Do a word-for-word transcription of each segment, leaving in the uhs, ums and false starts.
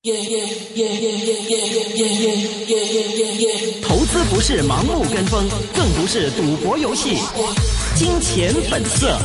投资不是盲目跟风，更不是赌博游戏。金钱本色。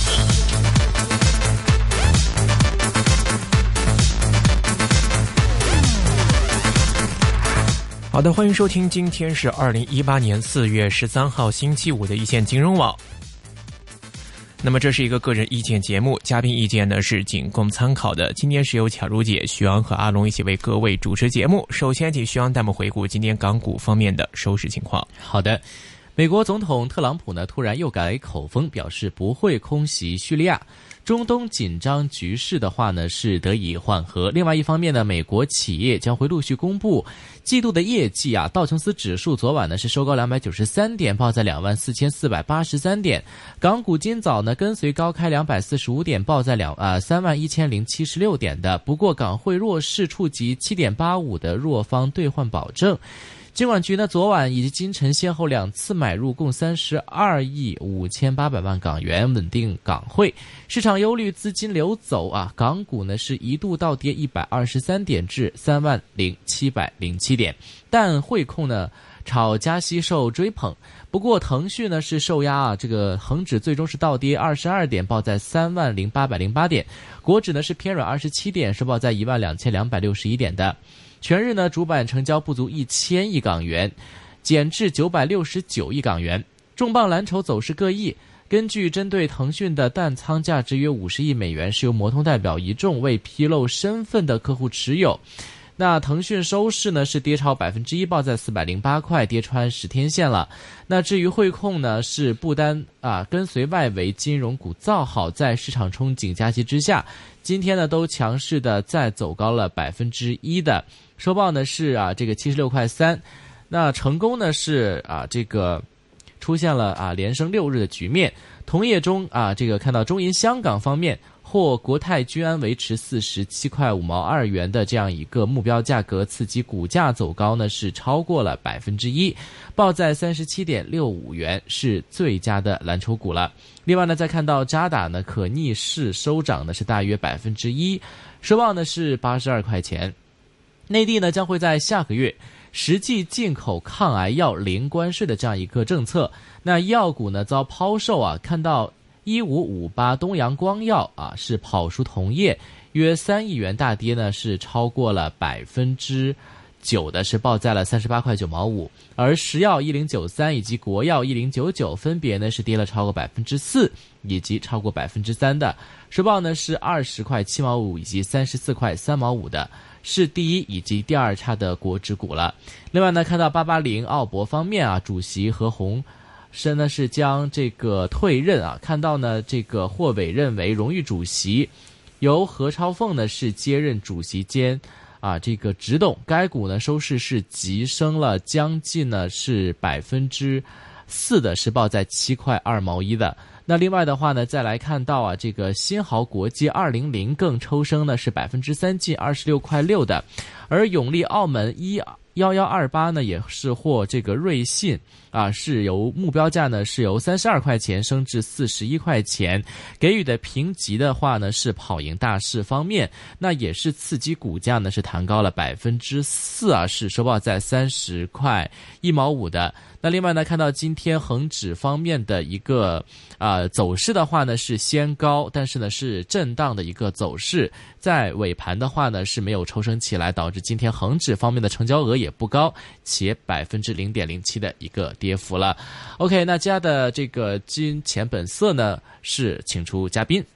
好的，欢迎收听，今天是二零一八年四月十三号星期五的一线金融网。那么这是一个个人意见节目，嘉宾意见呢是仅供参考的。今天是由巧如姐、徐昂和阿龙一起为各位主持节目。首先请徐昂带我们回顾今天港股方面的收市情况。 好的，美国总统特朗普呢突然又改口风，表示不会空袭叙利亚。中东紧张局势的话呢是得以缓和。另外一方面呢，美国企业将会陆续公布季度的业绩啊。道琼斯指数昨晚呢是收高两百九十三点，报在两万四千四百八十三点。港股今早呢跟随高开两百四十五点，报在两啊三万一千零七十六点的。不过港汇弱势，触及 七点八五 的弱方兑换保证。金管局呢昨晚以及今晨先后两次买入共三十二亿五千八百万港元，稳定港汇。市场忧虑资金流走啊，港股呢是一度倒跌一百二十三点至三万零七百零七点，但汇控呢炒加息受追捧。不过腾讯呢是受压啊，这个恒指最终是倒跌二十二点，报在三万零八百零八点。国指呢是偏软二十七点，是报在一万两千两百六十一点的。全日呢，主板成交不足一千亿港元，减至九百六十九亿港元。重磅蓝筹走势各异。根据针对腾讯的淡仓价值约五十亿美元，是由摩通代表一众未披露身份的客户持有。那腾讯收市呢是跌超百分之一，报在四百零八块，跌穿十天线了。那至于汇控呢，是不单啊跟随外围金融股造好，在市场憧憬加息之下，今天呢都强势的再走高了百分之一的。收报呢是啊这个七十六块三，那成功呢是啊这个出现了啊连升六日的局面。同业中啊这个看到中银香港方面，或国泰君安维持四十七块五毛二元的这样一个目标价格，刺激股价走高呢是超过了百分之一，报在三十七点六五元，是最佳的蓝筹股了。另外呢，再看到渣打呢可逆势收涨呢是大约百分之一，收报呢是八十二块钱。内地呢将会在下个月实际进口抗癌药零关税的这样一个政策，那医药股呢遭抛售啊，看到一五五八东阳光药啊是跑输同业约三亿元大跌呢，是超过了百分之九的，是报在了三十八块九毛五。而石药一零九三以及国药一零九九分别呢是跌了超过百分之四以及超过百分之三的，收报呢是二十块七毛五以及三十四块三毛五的，是第一以及第二差的国指股了。另外呢，看到八八零澳博方面啊，主席何鸿燊呢是将这个退任啊，看到呢这个获委任为荣誉主席，由何超凤呢是接任主席兼啊这个执董。该股呢收市是急升了将近呢是百分之四的，是报在七块二毛一的。那另外的话呢，再来看到啊，这个新濠国际二零零更抽升呢是百分之三，近二十六块六的。而永利澳门一幺幺二八呢也是获这个瑞信啊，是由目标价呢是由三十二块钱升至四十一块钱，给予的评级的话呢是跑赢大市方面，那也是刺激股价呢是弹高了百分之四啊，是收报在三十块一毛五的。那另外呢，看到今天恒指方面的一个啊、呃、走势的话呢是先高，但是呢是震荡的一个走势，在尾盘的话呢是没有抽升起来，导致今天恒指方面的成交额也不高，且百分之零点零七的一个跌幅了。OK， 那家的这个金钱本色呢是请出嘉宾。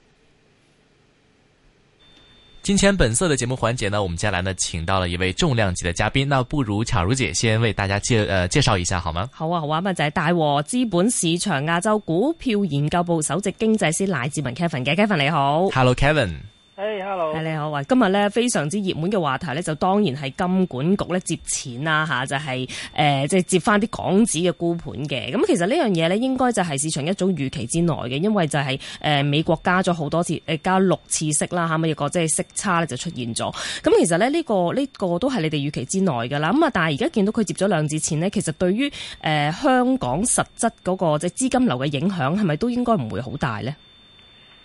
金钱本色的节目环节呢，我们接下来呢请到了一位重量级的嘉宾，那不如巧如姐先为大家介呃介紹一下好嗎？ 好啊好啊，咁就係大和資本市場亞洲股票研究部首席經濟師賴志文 Kevin 嘅 Kevin 你好。 Hello Kevin。 Hey, hello. 係你好啊！今日咧非常之熱門嘅話題咧，就當然係金管局咧接錢啦嚇，就係誒即係接翻啲港紙嘅沽盤嘅。咁其實呢樣嘢咧，應該就係市場一早預期之內嘅，因為就係、是、誒、呃、美國加咗好多次，誒加六次息啦嚇，咁一個即係息差咧就出現咗。咁其實咧呢、這個呢、這個都係你哋預期之內㗎啦。咁啊，但係而家見到佢接咗兩次錢咧，其實對於誒、呃、香港實質嗰、那個即係資金流嘅影響，係咪都應該唔會好大咧？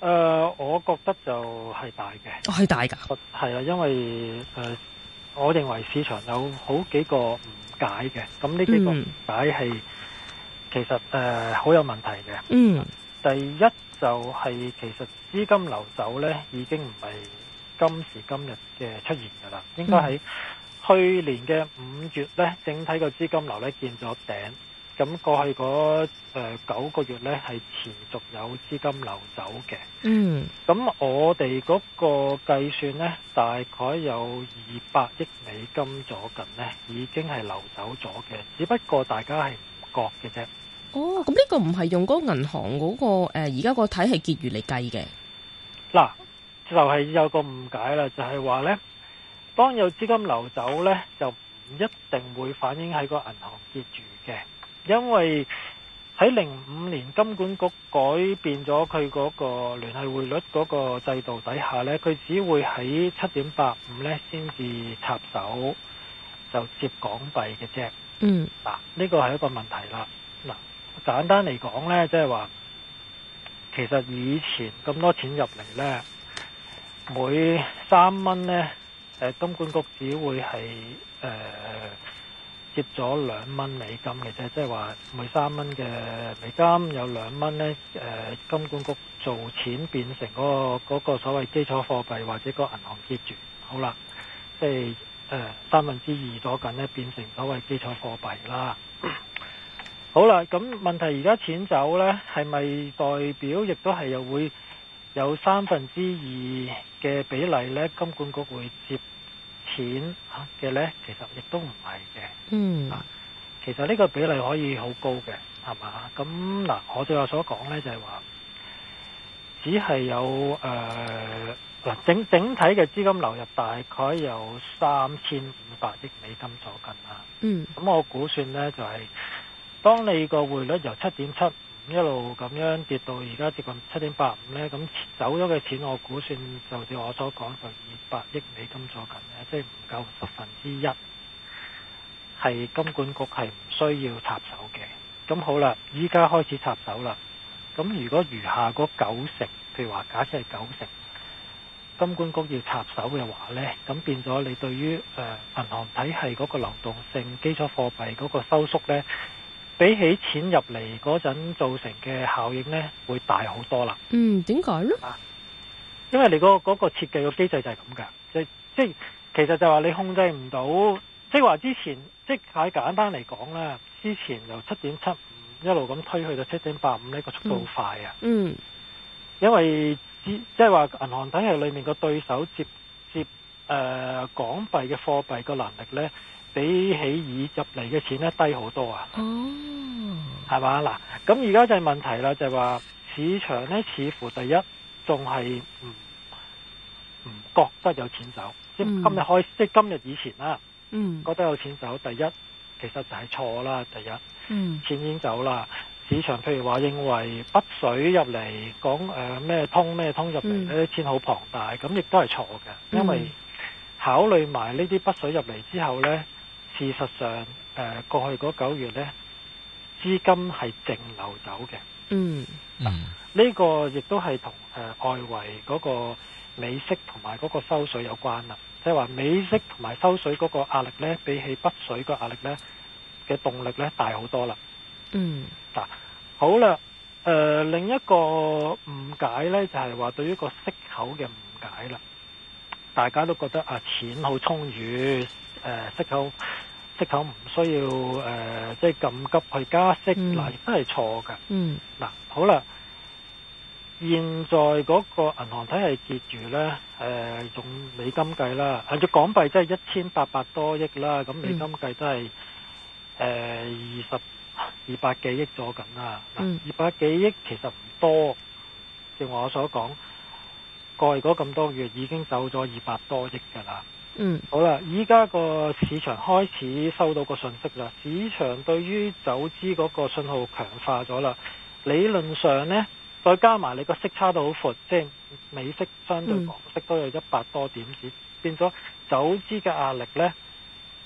呃，我覺得就係大嘅， 係、哦、大㗎， 係啊，因為誒、呃，我認為市場有好幾個誤解嘅，咁呢幾個誤解係、嗯、其實誒好、呃、有問題嘅。 嗯， 第一就係其實資金流走呢已經唔係今時今日嘅出現㗎啦，應該喺去年嘅五月呢，整體個資金流呢見咗頂。咁過去嗰誒九個月呢，係持續有資金流走嘅。 嗯。 咁我哋嗰個計算呢，大概有二百億美金左近呢，已經係流走咗嘅。只不過大家係唔覺嘅啫。 哦，咁呢個唔係用嗰個銀行嗰、嗰個誒而家個體系結餘嚟計嘅。嗱， 就係、是、有個誤解啦，就係、是、話呢，當有資金流走呢，就唔一定會反映喺個銀行結餘嘅。因為喺零五年金管局改變咗佢嗰個聯繫匯率嗰個制度底下呢，佢只會喺七點八五呢先至插手就接港幣嘅啫。 嗯， 嗱，呢個係一個問題啦。嗱，簡單嚟講呢，即係話其實以前咁多錢入嚟呢，每三蚊呢，誒金管局只會係誒。呃接咗兩蚊美金嘅啫，即係話每三蚊嘅美金有兩蚊呢，誒金管局做錢變成嗰個嗰個所謂基礎貨幣或者個銀行結餘，好啦，即係誒三分之二咗緊呢，變成所謂基礎貨幣啦。好啦，咁問題而家錢走呢，係咪代表亦都係又會有三分之二嘅比例呢？金管局會接錢嘅呢，其實亦都唔係嘅。 嗯， 啊，其實呢個比例可以好高嘅，係嘛？咁嗱，我最後所講呢，就係話，只係有誒嗱、呃、整整體嘅資金流入大概有三千五百億美金左近啦。 嗯，咁我估算呢，就係、是，當你個匯率由七點七一路咁樣跌到而家接近七點八五呢，咁走咗嘅錢我估算就似我所講就二百億美金左近呢，即係唔夠十分之一，係金管局係唔需要插手嘅。咁好啦，依家開始插手啦。咁如果餘下嗰九成，譬如話假設係九成，金管局要插手嘅話呢，咁變咗你對於誒、呃、銀行體系嗰個流動性、基礎貨幣嗰個收縮呢，比起錢入嚟嗰陣造成嘅效應呢，會大好多啦。 嗯，點解呢？ 啊，因為你嗰、嗰、嗰個設計個機制就係咁噶，即即其實就話你控制唔到，即係話之前即係簡單嚟講啦，之前由七點七五一路咁推去到七點八五呢個速度好快啊。 嗯， 因為即係話銀行體系裏面個對手接接誒、呃、港幣嘅貨幣個能力呢，比起以入嚟嘅錢咧低好多啊！哦，係嘛？嗱，咁而家就係問題啦，就係話市場咧似乎第一仲係唔唔覺得有錢走，即、嗯、係今日開，即係今日以前啦，嗯，覺得有錢走。第一其實就係錯啦，第一，嗯，錢已經走啦。市場譬如話認為北水入嚟講誒咩通咩通入嚟呢啲錢好龐大，咁亦都係錯嘅，因為考慮埋呢啲北水入嚟之後呢。事實上，誒、呃、過去嗰九月呢，資金係淨流走嘅。嗯，嗱、啊，呢、這個亦都係同誒外圍嗰個美息同埋嗰個收水有關啦。即係話美息同埋收水嗰個壓力呢，比起北水個壓力呢嘅動力呢大好多啦。嗯，嗱、啊，好啦，誒、呃、另一個誤解呢，就係、是、話對於個息口嘅誤解啦。大家都覺得啊錢好充裕。誒、呃、息口息口唔需要誒、呃，即係咁急去加息，嗱亦都係錯㗎。嗯，嗱好啦，現在嗰個銀行體系結餘咧，誒、呃、用美金計啦，按照港幣即係一千八百多億啦，咁美金計都係誒二十二百幾億咗緊啦。嗱，二百幾億其實唔多，正如我所講，過去嗰咁多月已經走咗二百多億㗎啦。嗯，好啦，依家個市場開始收到個信息啦，市場對於走資嗰個信號強化咗啦。理論上呢，再加埋你個息差都好闊，即係美息相對港息都有一百多點子，嗯、變咗走資嘅壓力呢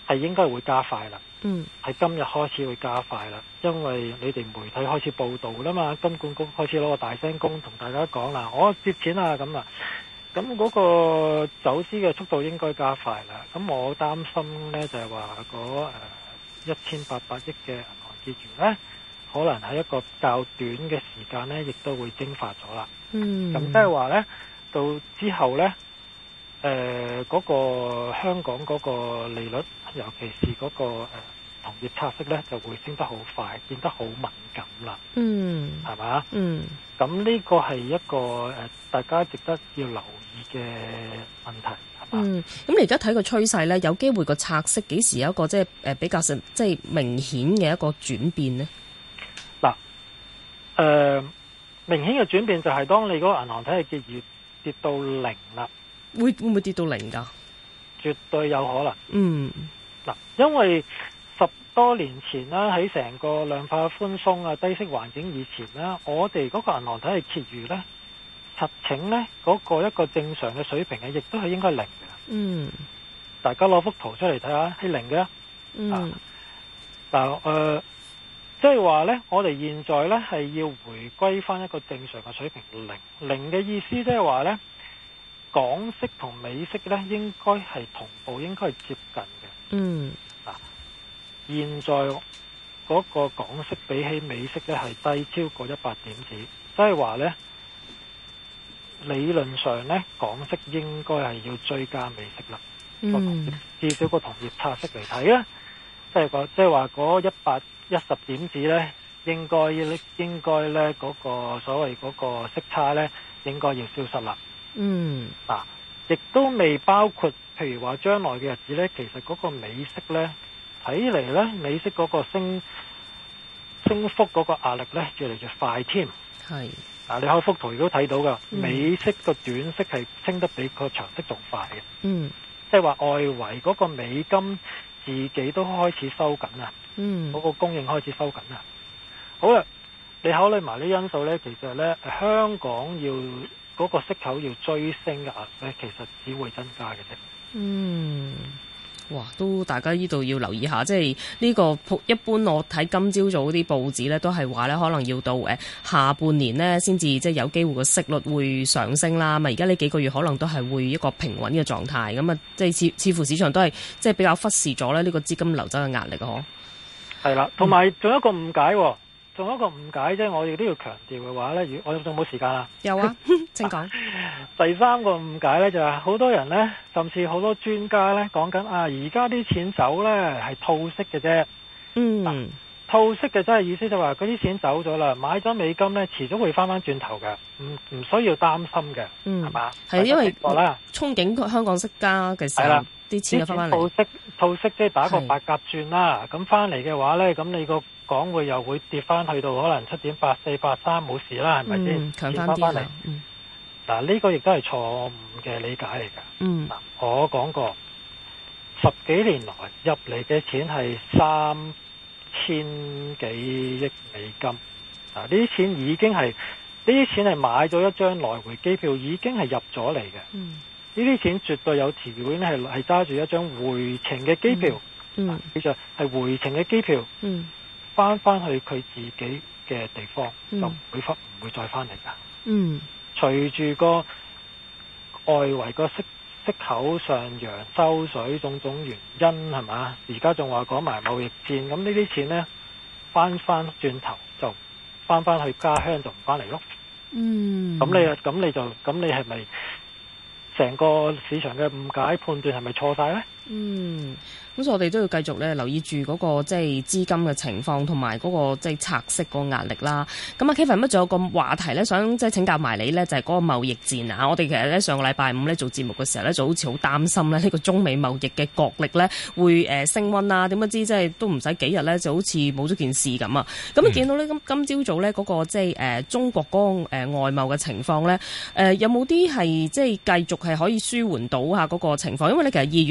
係應該會加快啦。 嗯， 係今日開始會加快啦，因為你哋媒體開始報道啦嘛，金管局開始攞個大聲公同大家講啦，我接錢啊咁啊，咁嗰個走資嘅速度應該加快啦。咁我擔心呢就係話嗰誒一千八百億嘅銀行結餘呢，可能喺一個較短嘅時間呢，亦都會蒸發咗啦。 嗯，咁即係話呢，到之後呢，誒、呃、嗰、嗰個香港嗰個利率，尤其是嗰、嗰個誒、呃、同業拆息呢，就會升得好快，變得好敏感啦。 嗯， 係嘛？ 嗯， 咁呢個係一個誒、呃、大家值得要留意嘅問題。 嗯，咁你而家睇個趨勢呢，有機會個拆息幾時有一個即係誒比較即係明顯嘅一個轉變呢？ 嗱，誒明顯嘅轉變就係當你嗰個銀行體系結餘跌到零啦，會會唔會跌到零㗎？ 絕對有可能。 嗯， 嗱，因為十多年前啦，喺成個量化寬鬆啊、低息環境以前啦，我哋嗰個銀行體系結餘呢，實情呢嗰、嗰個一個正常嘅水平嘅，亦都係應該零嘅。 嗯， 大家攞幅圖出嚟睇下，係零嘅。 嗯， 嗱、呃，誒，即係話呢，我哋現在呢係要回歸翻一個正常嘅水平零。零嘅意思即係話呢，港息同美息呢應該係同步，應該係接近嘅。 嗯， 嗱，現在嗰個港息比起美息呢係低超過一百點子，即係話呢，理論上呢，港息應該係要追加美息啦。 嗯， 至少個同業拆息嚟睇咧，即係個即係話嗰一百一十點子呢，應該應該呢嗰個所謂嗰個息差呢，應該要消失啦。 嗯， 嗱，亦都未包括，譬如話將來嘅日子呢，其實嗰個美息呢，睇嚟呢，美息嗰個升升幅嗰個壓力呢，越嚟越快添。 係。 嗱，你開幅圖如果睇到噶，美息個短息係升得比個長息仲快嘅。 嗯， 即係話外圍嗰個美金自己都開始收緊啊。 嗯， 嗰個供應開始收緊啊。好啦，你考慮埋呢因素呢，其實呢，香港要嗰個息口要追升嘅壓力呢，其實只會增加嘅啫。 嗯。哇，都大家呢度要留意下，即係呢個一般我睇今朝早啲報紙呢，都係話呢可能要到誒下半年呢先至即係有機會個息率會上升啦。咁而家呢幾個月可能都係會一個平穩嘅狀態，咁啊即係似似乎市場都係即係比較忽視咗咧呢個資金流走嘅壓力嗬。係啦，同埋仲有一個誤解喎。仲有一個誤解啫，我哋都要強調嘅話呢，如我仲冇時間啊？ 有啊，請講。 第三個誤解呢，就係、是、好多人呢，甚至好多專家呢講緊啊，而家啲錢走呢係套息嘅啫。 嗯， 啊、套息嘅真係意思就話嗰啲錢走咗啦，買咗美金呢，遲早會翻翻轉頭嘅，唔唔需要擔心嘅，係、嗯、嘛？ 係因為憧憬香港息加嘅時候，啲錢就翻翻嚟。 套息套息即係打個八甲轉啦，咁翻嚟嘅話呢，咁你個港匯又會跌翻去到可能七點八四八三冇事啦，係咪先？ 強翻啲啦。 嗱，呢個亦都係錯誤嘅理解嚟㗎。 嗯， 嗱，我講過十幾年來入嚟嘅錢係三千幾億美金。嗱，呢啲錢已經係呢啲錢係買咗一張來回機票，已經係入咗嚟嘅。 嗯， 呢啲錢絕對有條件係係揸住一張回程嘅機票。 嗯， 其實係回程嘅機票。 嗯。 翻翻去佢自己嘅地方， 嗯、 就唔會翻，唔會再翻嚟噶。 嗯， 隨住個外圍個息息口上揚、收水種種原因係嘛？而家仲話講埋貿易戰，咁呢啲錢呢，翻翻轉頭就翻翻去家鄉就唔翻嚟咯。 嗯， 咁你啊，咁你就咁你係咪成個市場嘅誤解判斷係咪錯晒呢？ 嗯，咁所以我哋都要繼續咧留意住嗰個即係資金嘅情況，同埋嗰個即係拆息個壓力啦。咁啊 Kevin 乜仲有個話題咧，想即係請教埋你咧，就係嗰個貿易戰啊。我哋其實咧上個禮拜五咧做節目嘅時候咧，就好似好擔心咧呢個中美貿易嘅角力咧會誒升溫啊。點不知即係都唔使幾日咧，就好似冇咗件事咁啊。咁啊見到咧今今朝早咧嗰個即係誒中國嗰個誒外貿嘅情況咧，誒有冇啲係即係繼續係可以舒緩到下嗰個情況？因為咧其實二月份咧。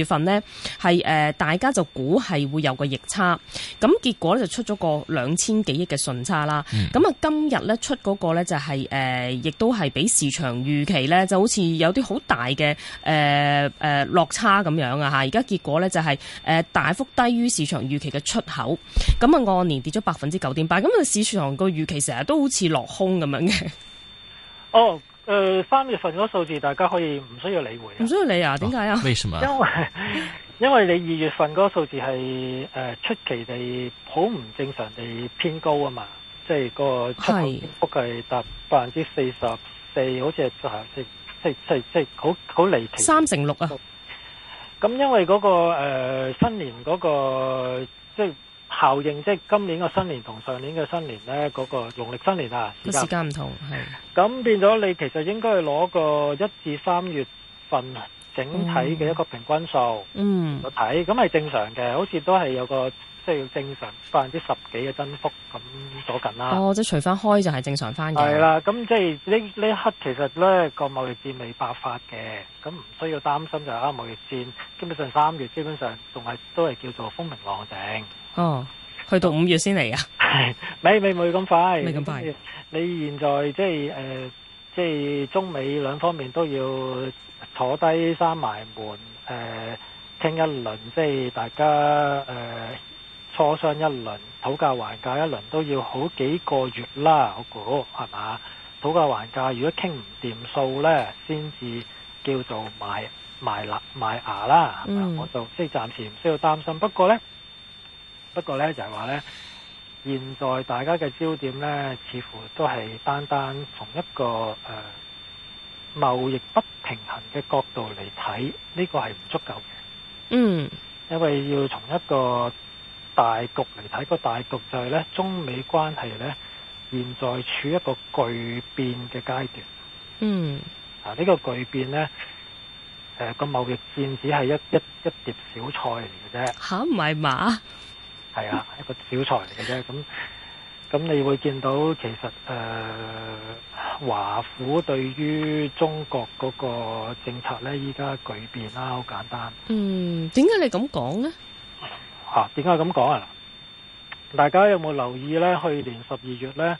係誒、呃、大家就估係會有個逆差，咁結果咧就出咗個兩千幾億嘅順差啦。咁啊、嗯、今日咧出嗰個咧就係、是、誒、呃、亦都係比市場預期咧就好似有啲好大嘅誒誒落差咁樣啊嚇！而家結果咧就係、是、誒、呃、大幅低於市場預期嘅出口，咁啊按年跌咗百分之九點八，咁啊市場個預期成日都好似落空咁樣嘅。 哦，誒、呃，三月份嗰個數字大家可以唔需要理會，唔需要理啊？點解啊？ 為什麼？ 因為因為你二月份嗰個數字係誒、呃、出奇地好唔正常地偏高啊嘛，即係個出口跌幅係達百分之四十四，好似係即即即即好好離奇， 三成六啊！ 咁因為嗰、那個誒、呃、新年嗰、那個即係效應，即係今年嘅新年同上年嘅新年咧，嗰、那個農曆新年啊， 個時間唔同，係咁變咗你其實應該係攞個一至三月份整體嘅一個平均數，嗯，我睇咁係正常嘅，好似都係有個即係正常百分之十幾嘅增幅咁左近啦。 哦，即係除翻開就係正常翻嘅。 係啦，咁即係呢呢一刻其實咧個貿易戰未爆發嘅，咁唔需要擔心就係啊貿易戰基本上三月基本上仲係都係叫做風平浪靜。 哦，去到五月先嚟啊？ 係，未未未咁快， 未咁快。 你現在即係誒、呃，即係中美兩方面都要坐低閂埋門，誒、呃，傾一輪，即係大家誒、呃、磋商一輪，討價還價一輪，都要好幾個月啦，我估係嘛？討價還價，如果傾唔掂數咧，先至叫做埋埋牙埋牙啦。嗯，我就即係暫時唔需要擔心。不過咧。不過咧就係話咧，現在大家嘅焦點咧，似乎都係單單從一個誒、呃、貿易不平衡嘅角度嚟睇，呢、這個係唔足夠嘅。嗯，因為要從一個大局嚟睇，個大局就係咧，中美關係咧現在處一個巨變嘅階段。嗯，啊呢、這個巨變咧，誒、呃、個貿易戰只係一一一碟小菜嚟嘅啫。 吓，唔係嘛？ 係啊，一個小菜嚟嘅啫。咁咁，你會見到其實誒、呃、華府對於中國嗰個政策咧，依家巨變啦，好簡單。嗯， 點解你咁講呢？ 嚇，點解咁講啊？大家有冇留意咧？去年十二月咧，誒、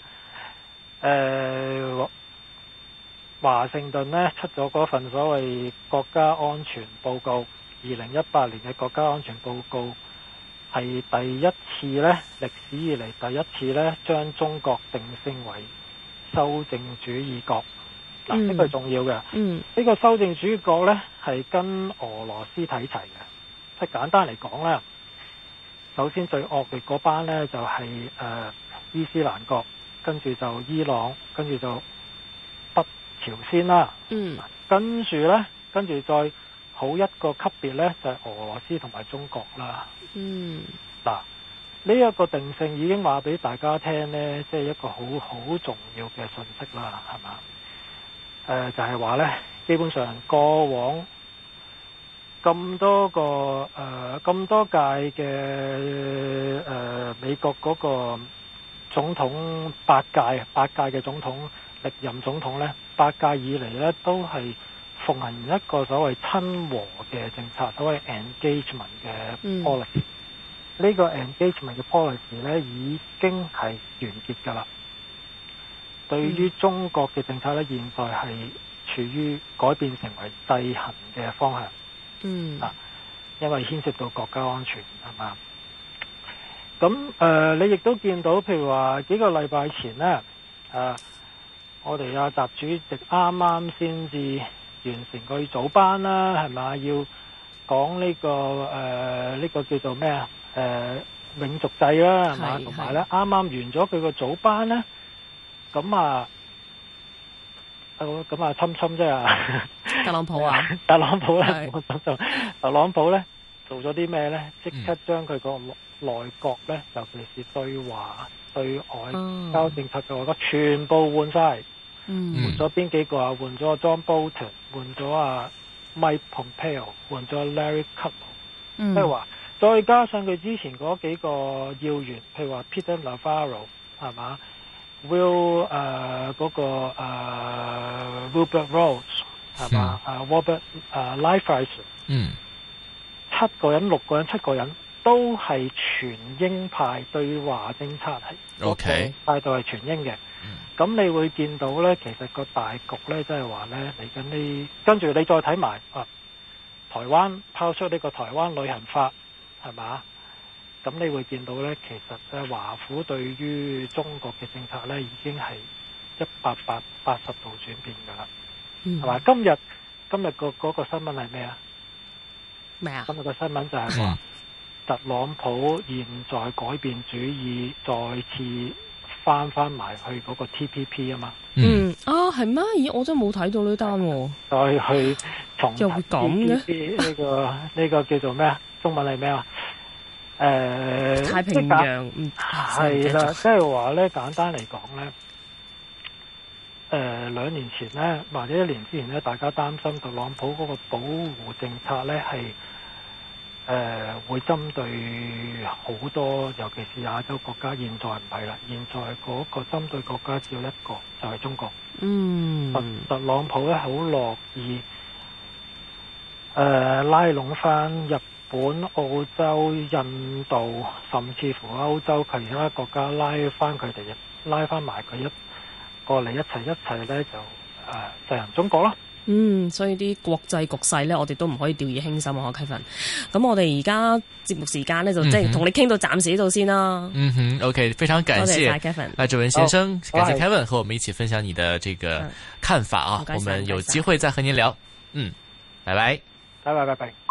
呃、華盛頓咧出咗嗰份所謂國家安全報告，二零一八年嘅國家安全報告。係第一次咧，歷史以嚟第一次咧，將中國定性為修正主義國。嗱、嗯，呢個係重要嘅。嗯，呢個修正主義國咧，係跟俄羅斯睇齊嘅。即係簡單嚟講咧，首先最惡劣嗰班咧就係、是、誒、呃、伊斯蘭國，跟住就伊朗，跟住就北朝鮮啦。嗯，跟住咧，跟住再好一個級別咧，就係、是、俄羅斯同埋中國啦。嗯，嗱，呢一個定性已經話俾大家聽呢，即係一個好好重要嘅信息啦，係嘛？誒、呃，就係話呢，基本上過往咁多個誒咁、呃、多屆嘅誒、呃、美國嗰個總統八屆八屆嘅總統歷任總統呢，八屆以嚟呢都係奉行一個所謂親和嘅政策，所謂 engagement 嘅 policy。呢、嗯、個 engagement 嘅 policy 咧已經係完結㗎啦。對於中國嘅政策咧，現在係處於改變成為制衡嘅方向。嗯。啊，因為牽涉到國家安全係嘛。咁誒、呃，你亦都見到，譬如話幾個禮拜前咧，誒、啊，我哋阿習主席啱啱先至完成個早班啦，係咪？要講呢、這個誒呢、呃這個叫做咩啊？誒、呃、永續制啦，係嘛？同埋咧，啱啱完咗佢個早班咧，咁啊，咁啊，侵侵啫啊！ 特朗普啊， 特朗普咧，特朗普咧做咗啲咩咧？即刻將佢個內閣咧，尤其是對華對外交政策嘅外閣全部換晒。嗯，換咗邊幾個啊？換咗 John Bolton， 換咗啊 Mike Pompeo， 換咗 Larry Kudlow。嗯，即係話再加上佢之前嗰幾個要員，譬如話 Peter Navarro 係嘛 ，Will 誒、呃、嗰、那個誒、呃、Wilbur Ross 係嘛，啊 Robert 誒 Lighthizer，嗯， 七個人、六個人、七個人都係全鷹派對華政策係 OK 態度係全鷹嘅。咁、嗯、你會見到呢，其實個大局呢，即係話呢，嚟緊呢，跟住你再睇埋啊，台灣拋出呢個台灣旅行法係嘛？咁你會見到呢，其實咧華府對於中國嘅政策呢，已經係一百八十度轉變㗎啦，係嘛、嗯？今日今日個嗰個新聞係咩啊？ 咩啊？ 今日個新聞就係話特朗普現在改變主意，再次翻翻埋去嗰個 T P P 啊嘛。 嗯啊，係咩？咦，我真係冇睇到呢單喎。 再去重又會咁嘅？ 呢個呢個叫做咩啊？中文係咩啊？誒、呃， 太平洋係啦，即係話咧，簡單嚟講咧，誒、呃，兩年前咧，或者一年之前咧，大家擔心特朗普嗰個保護政策咧係誒會針對好多，尤其是亞洲國家。現在唔係啦，現在嗰個針對國家只有一個，就係、是、中國。嗯，特朗普咧好樂意誒、呃、拉攏翻日本、澳洲、印度，甚至乎歐洲其他國家拉翻佢哋，拉翻埋佢一過嚟一齊一齊咧就誒制衡中國咯。 嗯，所以啲國際局勢咧，我哋都唔可以掉以輕心啊，Kevin。咁我哋而家節目時間咧，就即係同你傾到暫時呢度先啦。嗯哼 ，OK， 非常感謝 Kevin， 賴志文先生，感謝 Kevin 和我們一起分享你的這個看法啊。我們有機會再和您聊。嗯，拜拜， 拜拜拜拜。